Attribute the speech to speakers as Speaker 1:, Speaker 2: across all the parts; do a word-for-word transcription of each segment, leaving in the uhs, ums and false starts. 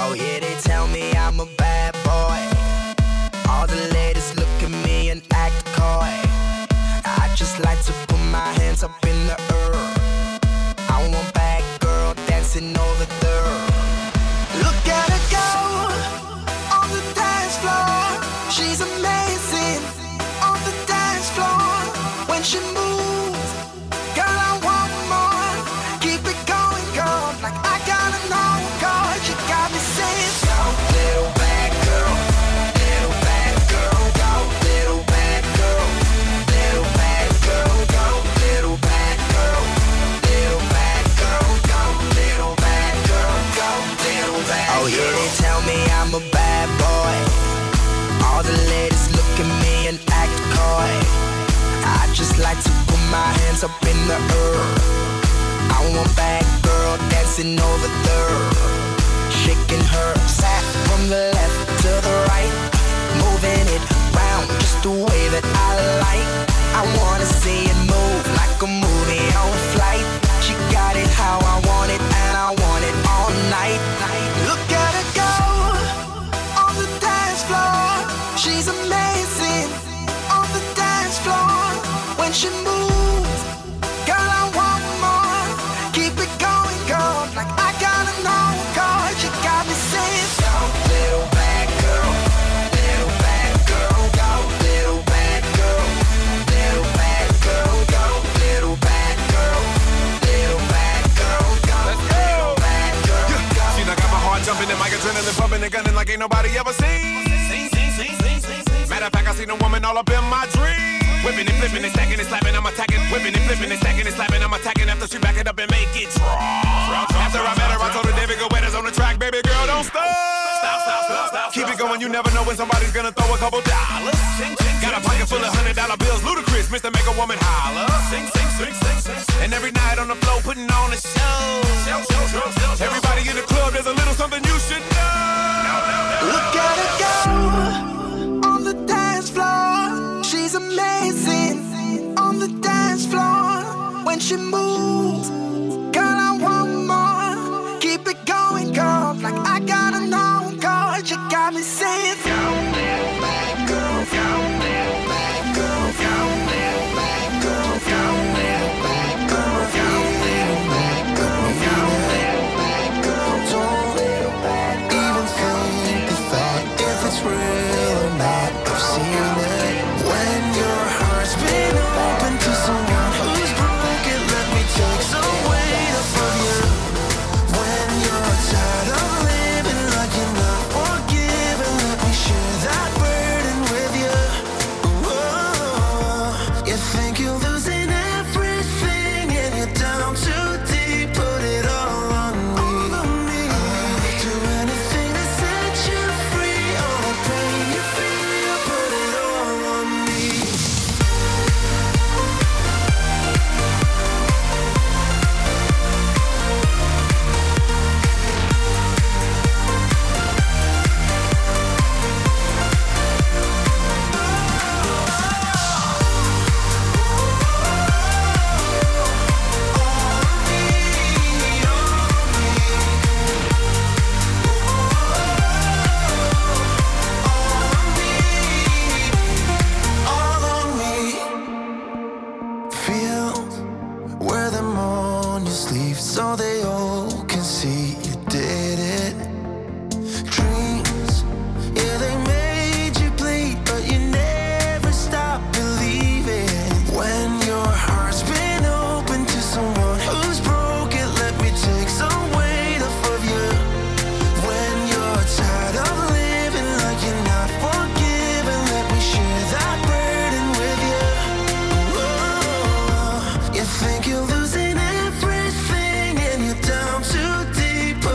Speaker 1: Oh yeah, they tell me I'm a bad boy. All the ladies look at me and act coy. I just like to put my hands up in the air. I want bad girl dancing over there. Look at her go on the dance floor. She's amazing on the dance floor. When she moves, girl, I want more. Keep it going, girl, like I gotta know, girl. You got me saying, go, little bad girl, little bad girl, go, little bad girl, little bad girl, go, little bad girl, little bad girl, go, little bad girl, go, little bad girl. Oh yeah, they tell me I'm a bad boy. All the ladies look at me and act coy. I just like to put my hands up in the air. I want bad girl dancing over there. Shaking her sack from the left to the right. Moving it round just the way that I like. I wanna see it move like a movie on flight. She got it how I want it and I want it all night. Look at her go on the dance floor. She's amazing on the dance floor. When she moves, girl, I want more. Keep it going, girl, like I gotta know, girl. You got me saying, go, little bad girl, little bad girl, go, little bad girl, little bad girl, go, little bad girl, little bad girl, go, little bad girl, go.
Speaker 2: See, I got my heart jumping and my adrenaline pumping and gunning like ain't nobody ever seen. Matter of fact, I seen a woman all up in my dreams. Whipping and flipping and stacking and slapping, I'm attacking. Whipping and flipping and stacking and slapping, I'm attacking. After she back it up and make it drop. After I met her, I told her David go on the track, baby girl, don't stop. Stop, stop, stop, stop. Keep it going, you never know when somebody's gonna throw a couple dollars. Got a pocket full of hundred dollar bills, ludicrous, Mister Make a Woman holler. Sing, sing, sing, sing, sing. And every night on the floor, putting on a show. Everybody in the club, there's a little something you should know.
Speaker 1: Look at her go on the dance floor. She's amazing on the dance floor. When she moves, girl, I want more. Keep it going, girl, like I gotta know, girl. You got me saying, go, little bad girl, go, little bad girl, go, little bad girl, go, little bad girl, go, little bad girl, go, little bad girl, don't little bad girl.
Speaker 3: Even think the thought if it's real or not, I've seen it. When your heart's been open to someone who's broken, let me take some weight off of you. When you're tired of living like you're not forgiven, let me share that burden with you. Whoa. You think you're losing everything and you're down too deep, put it all on me. I'll do anything to set you free. All the pain you feel, put it all on me. All on me. Feel where them on your sleeve so they all can see you did it. Dreams, yeah, they made you bleed, but you never stop believing. When your heart's been open to someone who's broken, let me take some weight off of you. When you're tired of living like you're not forgiven, let me share that burden with you. Whoa. You think you're losing everything and you're down too deep,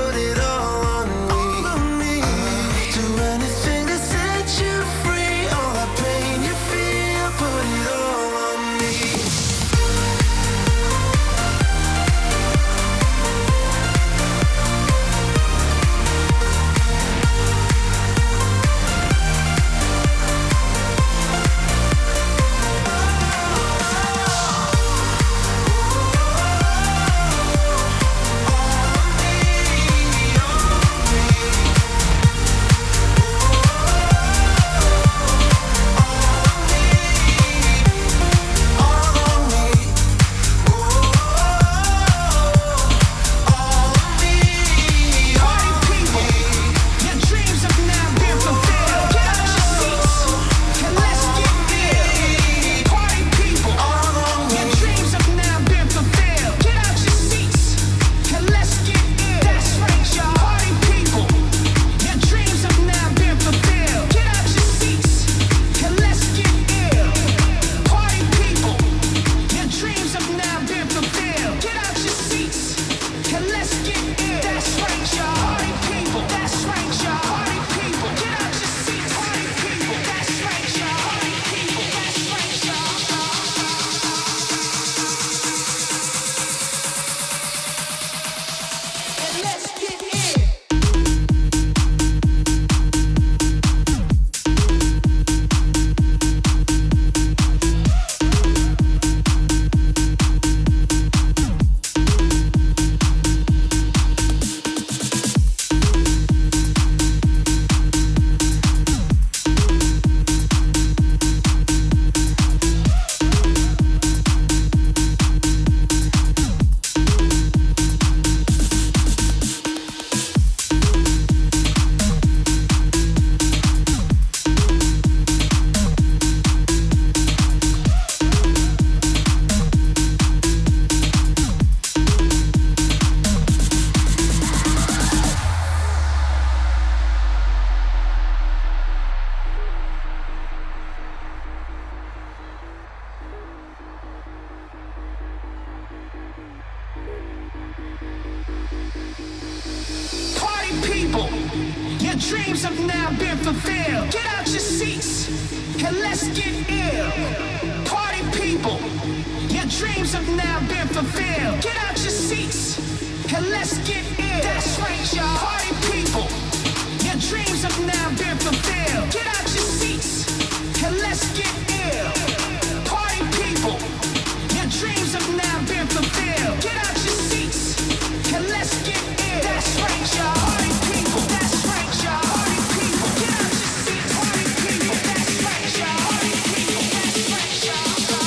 Speaker 4: dreams have now been fulfilled. Get out your seats and let's get ill. Party people, your dreams have now been fulfilled. Get out your seats and let's get ill. That's right, y'all. Party people, your dreams have now been fulfilled. Get out your seats and let's get ill. Party people, your dreams have now been fulfilled. Get out your seats and let's get ill. That's right, y'all. Party people, that's right, y'all. Party people, get out your seats. Party people, that's right, y'all. Party people, that's right, y'all.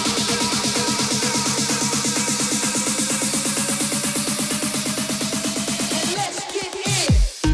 Speaker 4: And let's get ill.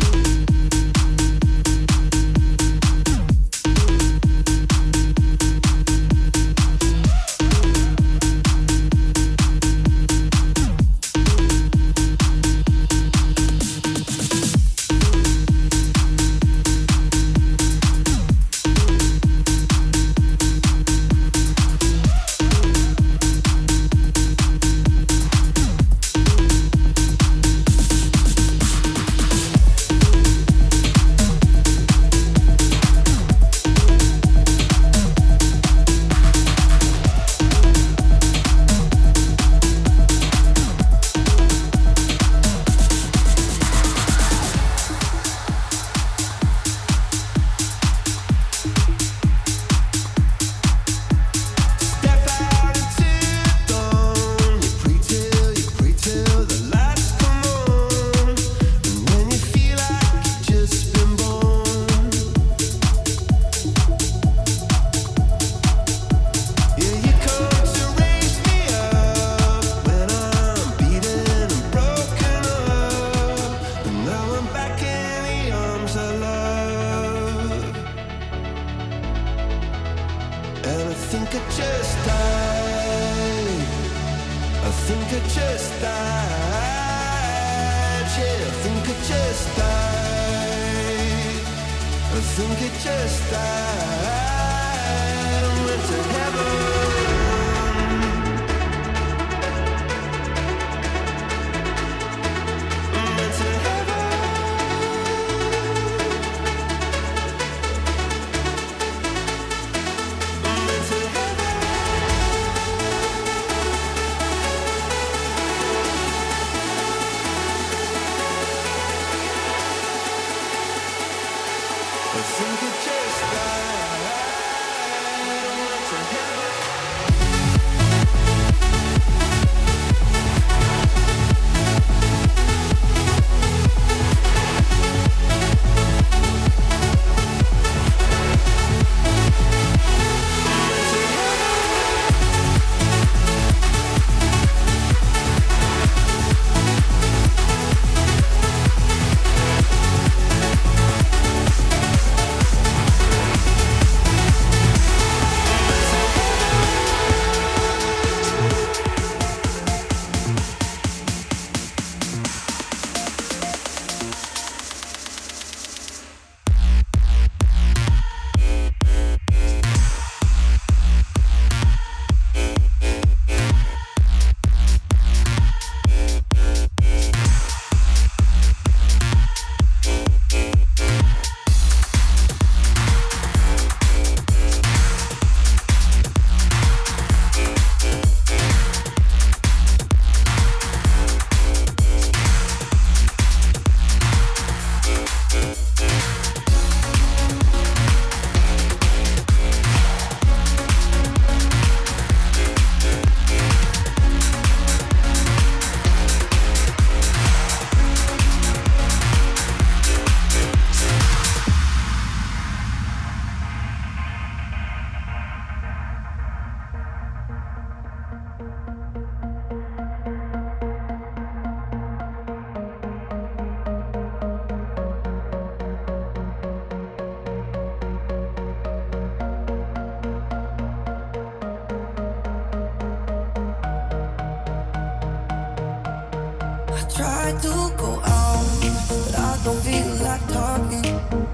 Speaker 5: Try to go out, but I don't feel like talking.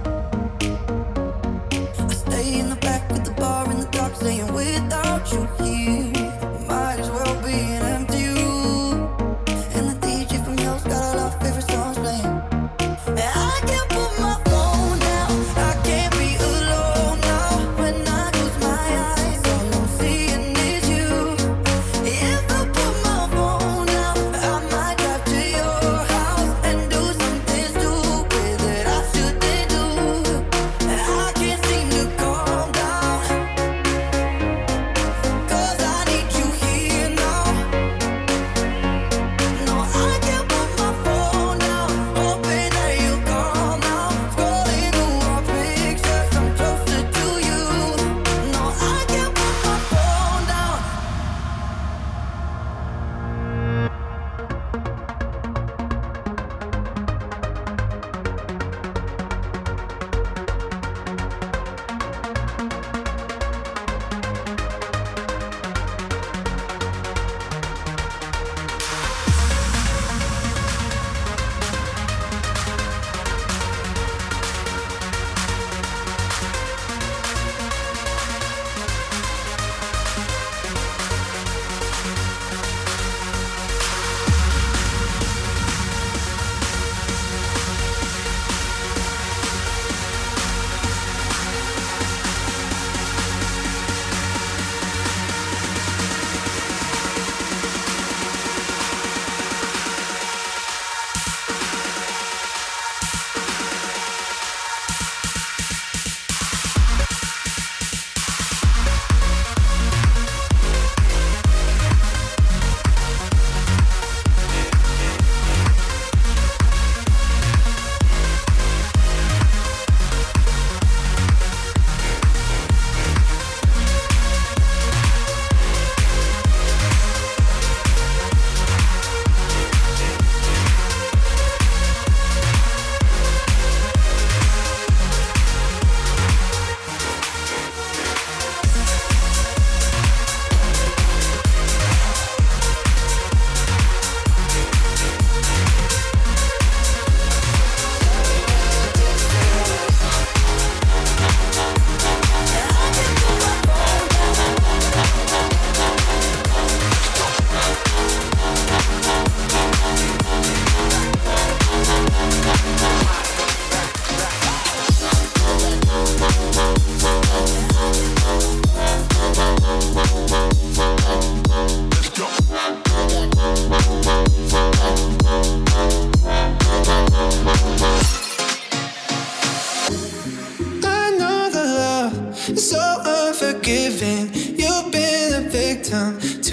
Speaker 5: I stay in the back of the bar in the dark, saying without you here, might as well be an empty room. And the D J from hell's got all our favorite songs playing, and I can't put my phone down.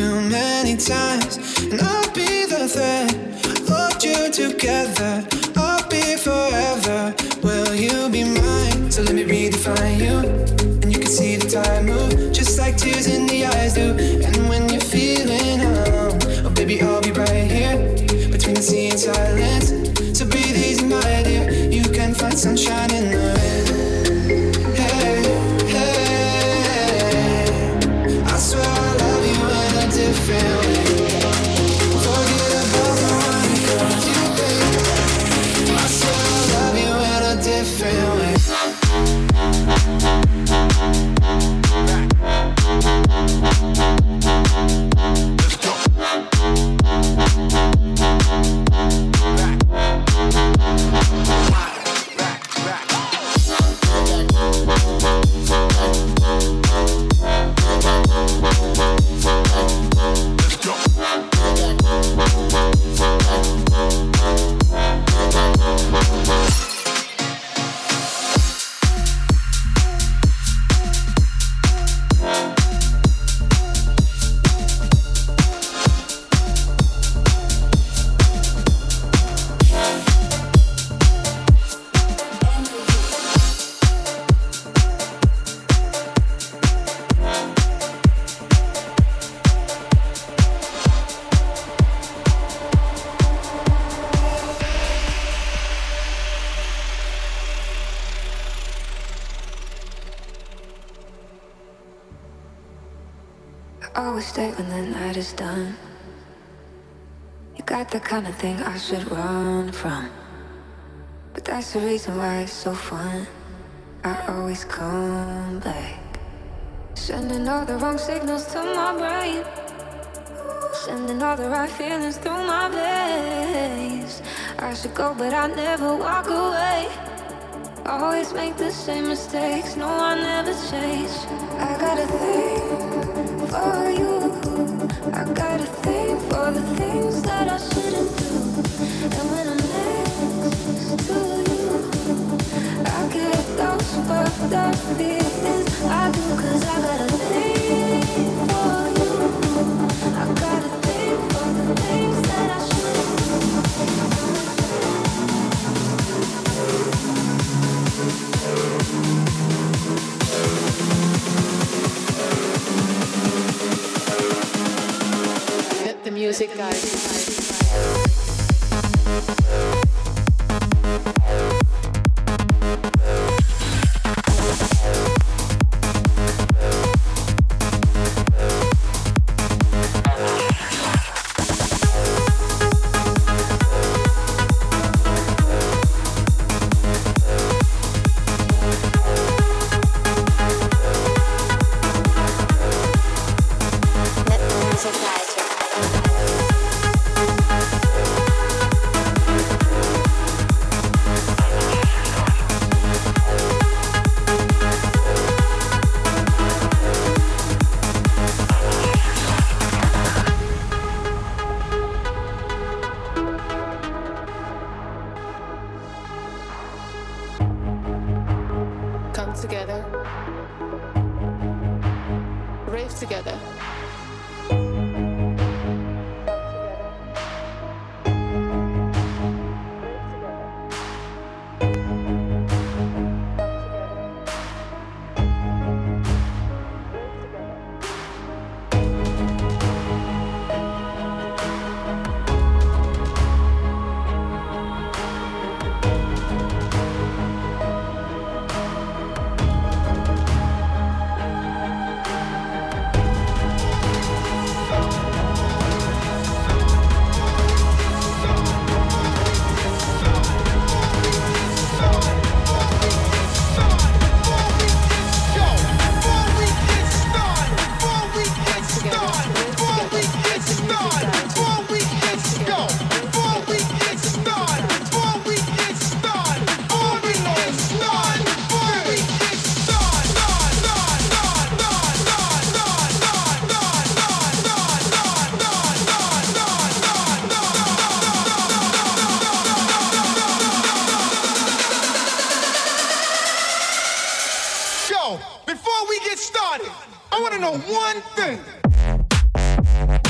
Speaker 3: too many times, and I'll be the thread. Hold you together, I'll be forever. Will you be mine? So let me redefine you, and you can see the time move, just like tears in the eyes do. And when you're feeling numb, oh baby, I'll be right here, between the sea and silence. So breathe easy, my dear, you can find sunshine in the rain. Hey, hey, I swear I love you in a different way. Forget about the money, cause you pay. I swear I love you in a different way. Let's go.
Speaker 6: Always stay when the night is done. You got the kind of thing I should run from, but that's the reason why it's so fun. I always come back, sending all the wrong signals to my brain, sending all the right feelings through my veins. I should go, but I never walk away. Always make the same mistakes, no, I never change. I got a thing for you, I got a thing for the things that I shouldn't do. And when I'm next to you, I get those fucked up feelings. I do, cause I got a thing for you, I got a thing for the things that I shouldn't do.
Speaker 7: The music, guys.
Speaker 8: Before we get started, I want to know one thing.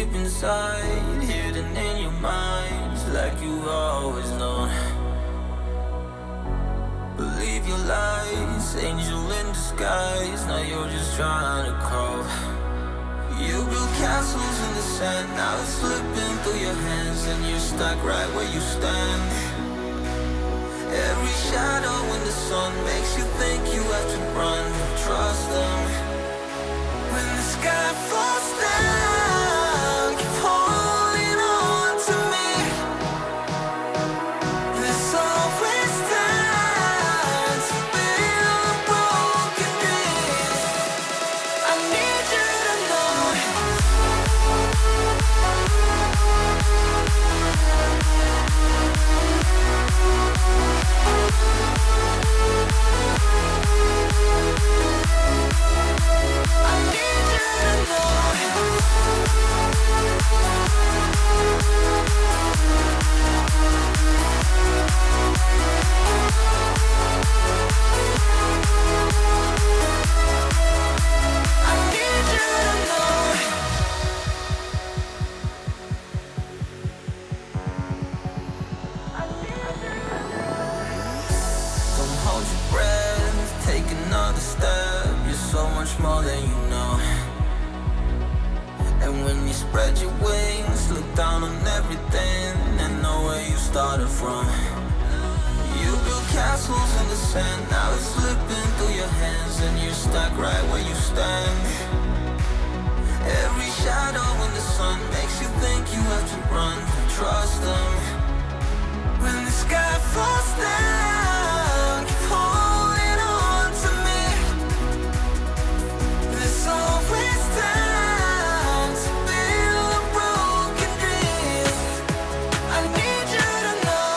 Speaker 3: deep inside, hidden in your minds, like you've always known. Believe your lies, angel in disguise. Now you're just trying to crawl. You build castles in the sand, now it's slipping through your hands, and you're stuck right where you stand. Every shadow in the sun makes you think you have to run. Trust them. When the sky falls down, keep holding on to me. There's always time to build broken dreams. I need you to know. I need you to more than you know. And when you spread your wings, look down on everything and know where you started from. You build castles in the sand, now it's slipping through your hands, and you're stuck right where you stand. Every shadow in the sun makes you think you have to run. Trust them. When the sky falls down, keep holding on to me. There's always time to build broken dreams. I need you to know.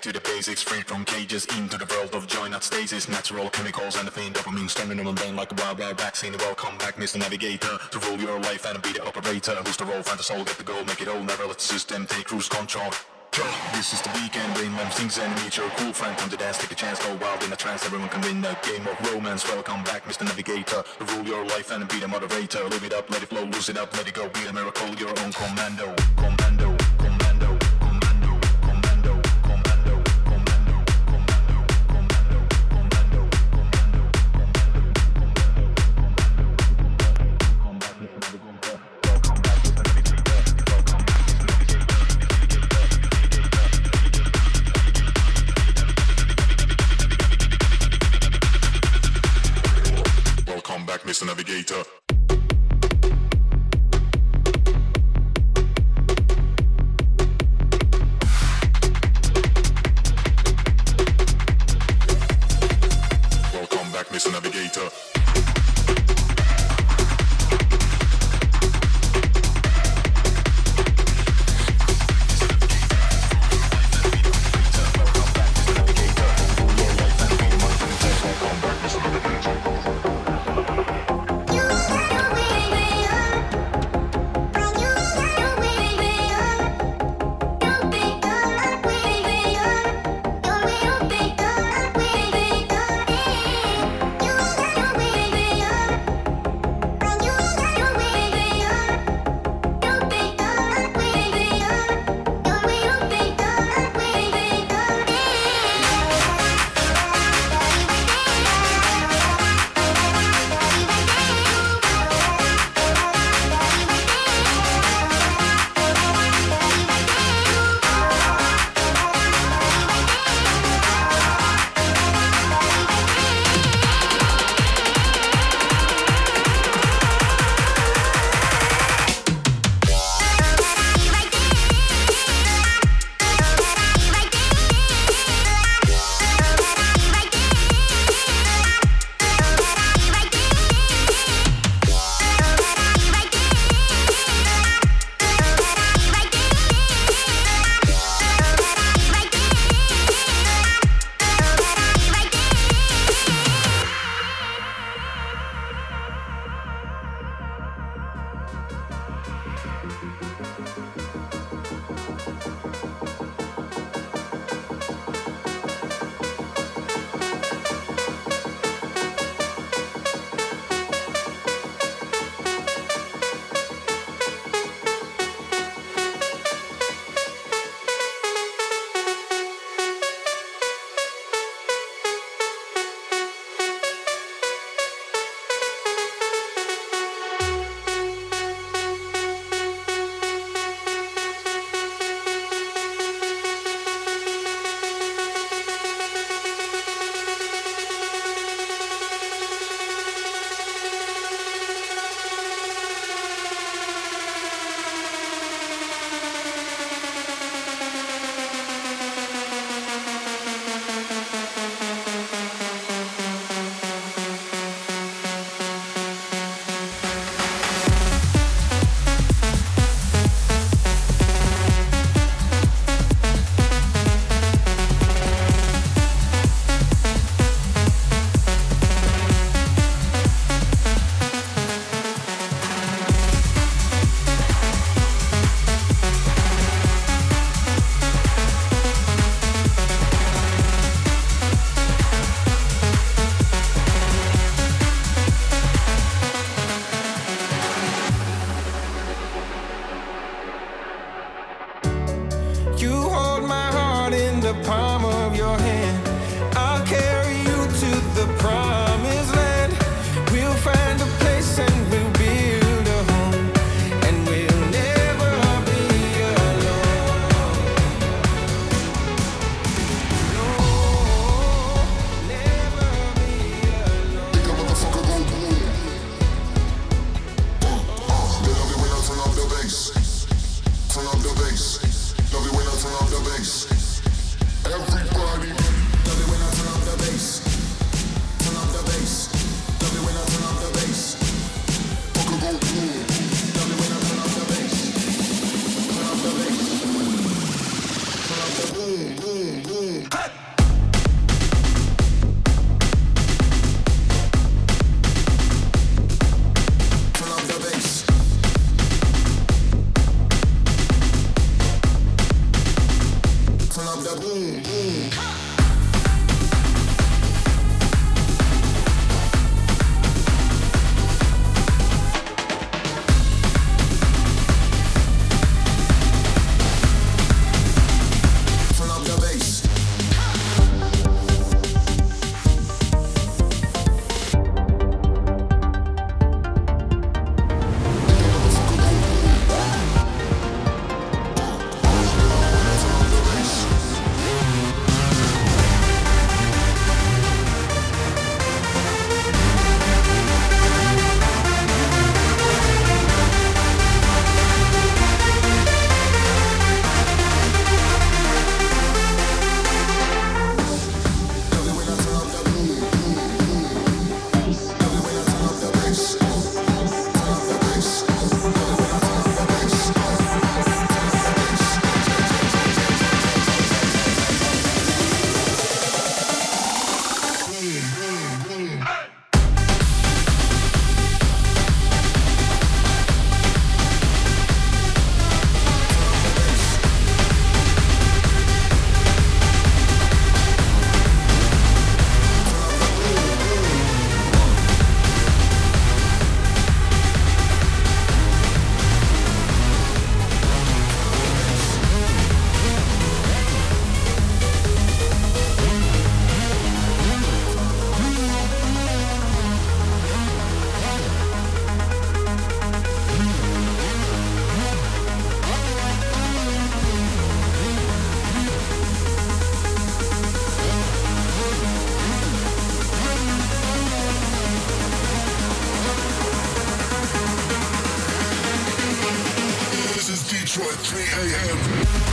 Speaker 8: to the basics, free from cages, into the world of joy, not stasis. Natural chemicals and the fiend dopamine standing on the brain like a wild, wild vaccine. Welcome back, Mister Navigator, to rule your life and be the operator. Who's the role, find the soul, get the goal, make it all, never let the system take cruise control. This is the weekend, rain man sings and meet your cool friend. Come to dance, take a chance, go wild in a trance. Everyone can win a game of romance. Welcome back, Mister Navigator, to rule your life and be the moderator. Live it up, let it flow, lose it up, let it go. Be a miracle, your own commando. Commando, commando, commando, commando, commando, commando, commando, commando, commando. Welcome back, Mister Navigator. Welcome back, Mister Navigator. Welcome back, Mister Navigator. Welcome back, Mister Navigator.
Speaker 3: You Detroit, three a.m.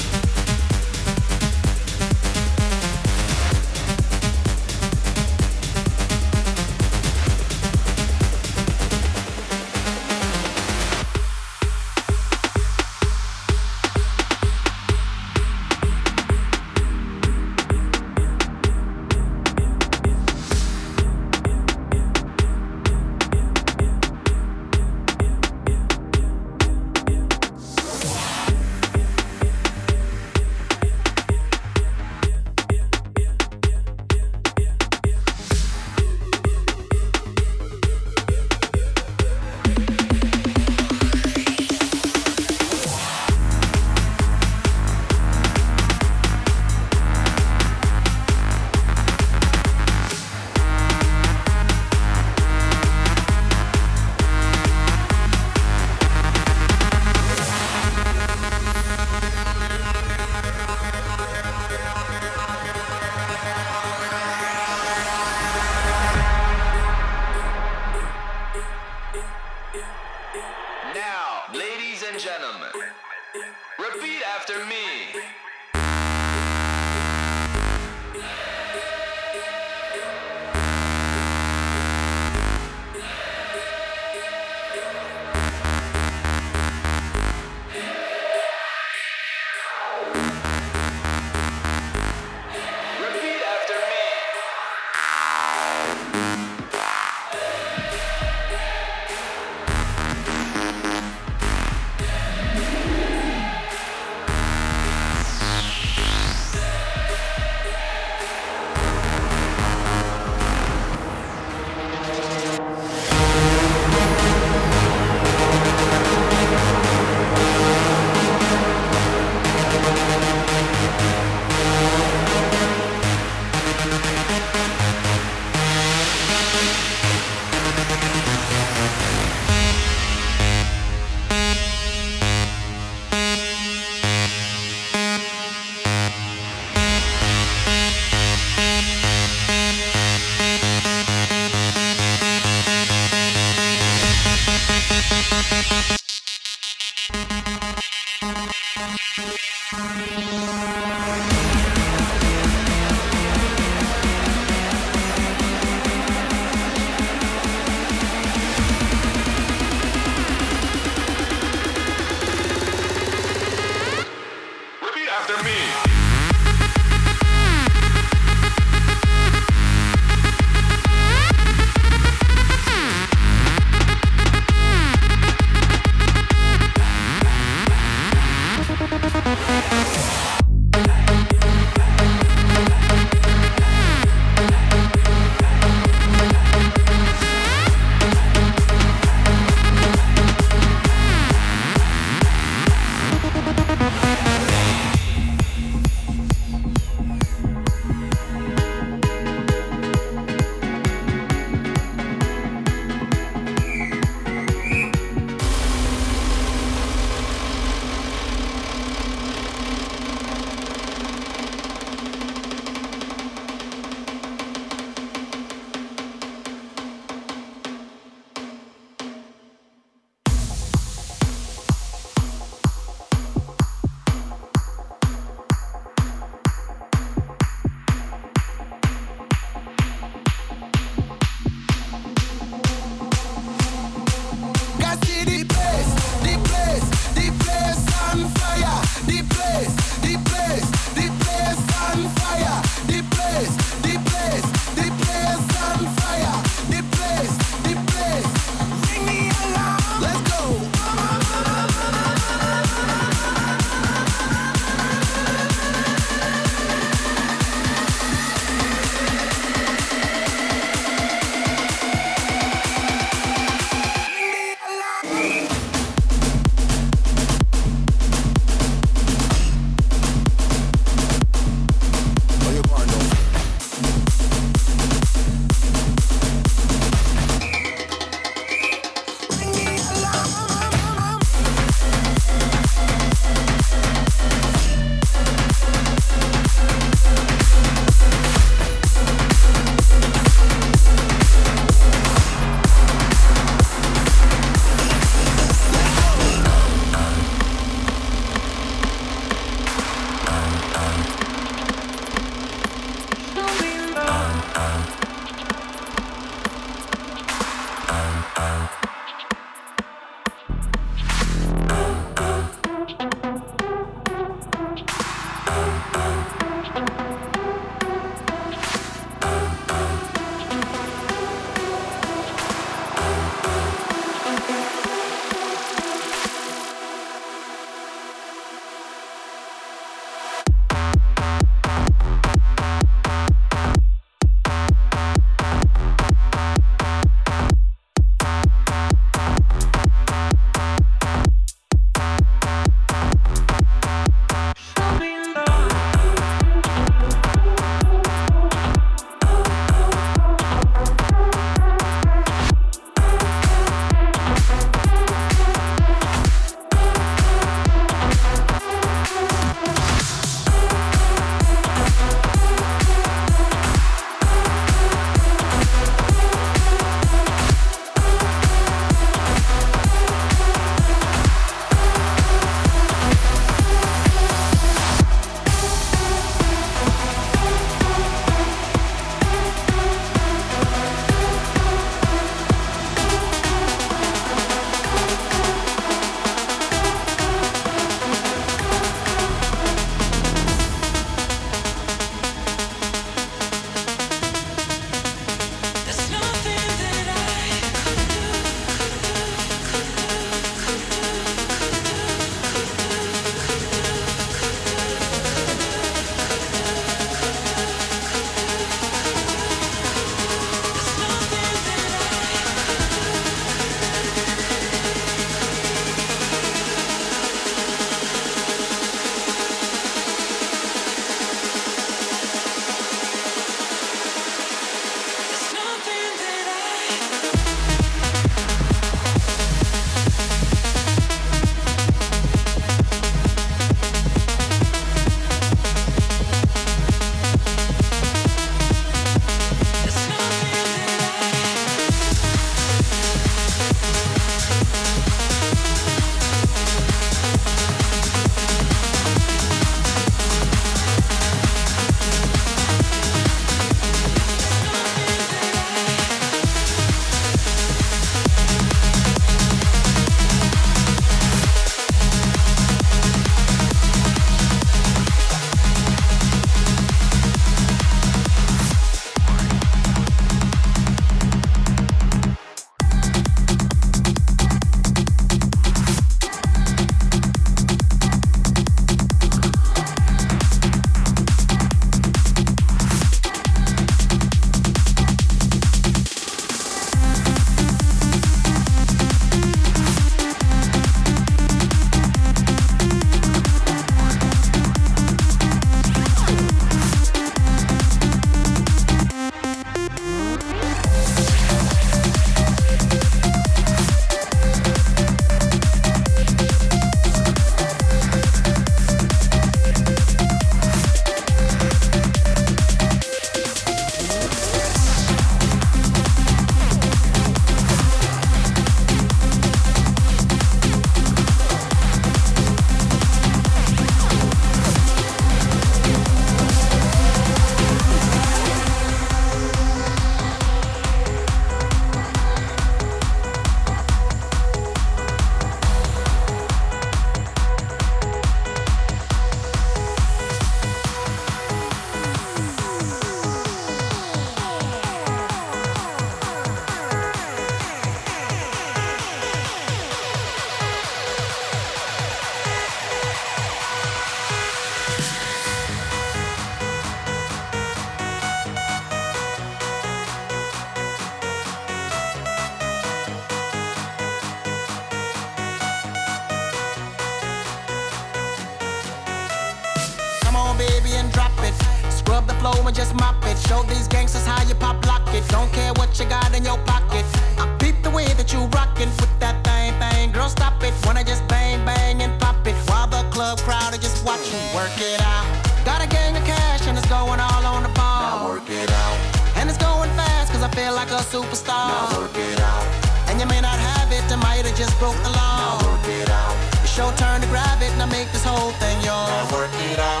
Speaker 9: flow and just mop it. Show these gangsters how you pop lock it. Don't care what you got in your pocket. I peep the way that you rockin' with that thing, thing. Girl, stop it. Wanna just bang, bang and pop it. While the club crowd are just watching. Work it out. Got a gang of cash and it's going all on the ball.
Speaker 3: Now work it out.
Speaker 9: And it's going fast cause I feel like a superstar.
Speaker 3: Now work it out.
Speaker 9: And you may not have it, I might have just broke the law.
Speaker 3: Now work it out.
Speaker 9: It's your turn to grab it and I make this whole thing yours.
Speaker 3: Now work it out.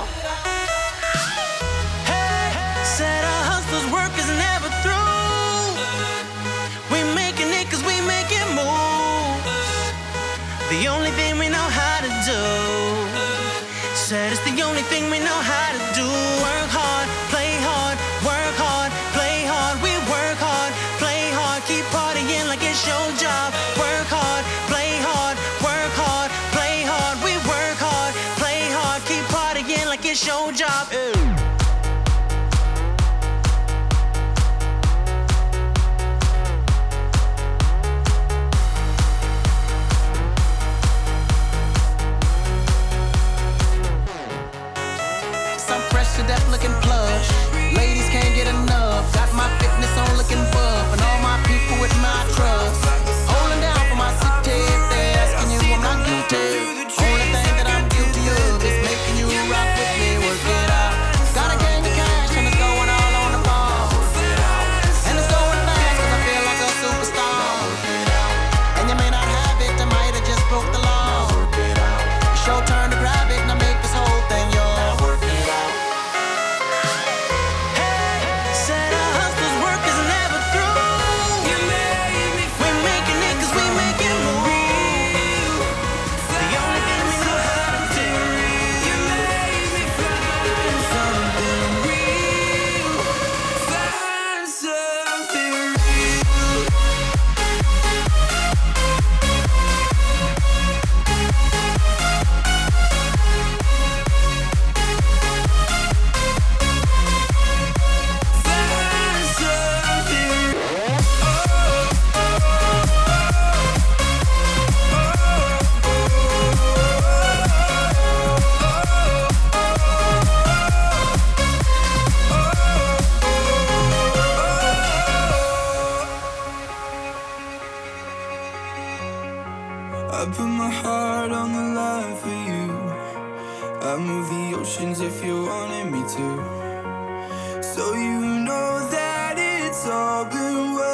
Speaker 9: Hey, said our hustlers' work is never through. We making it cause we making moves. The only thing we know how to do. Said it's the only thing we know how to do. Work hard, play hard, work hard, play hard. We work hard, play hard, keep partying like it's your job. Work hard, play hard, work hard, play hard. We work hard, play hard, keep partying like it's your job. Ew. To death looking plush. Ladies can't get enough. Got my fitness on looking buff. And all my people with my trust. Holding down for my city. If they're asking you, I'm not guilty. Only thing that I'm guilty of is making you rock with me. Work it out. Got a gang of cash and it's going all on the ball. And it's going fast cause I feel like a superstar. And you may not have it, I might have just broke the law. It's your turn to grab it and I make this whole thing yours.
Speaker 10: I put my heart on the line for you. I move the oceans if you wanted me to. So you know that it's all been worth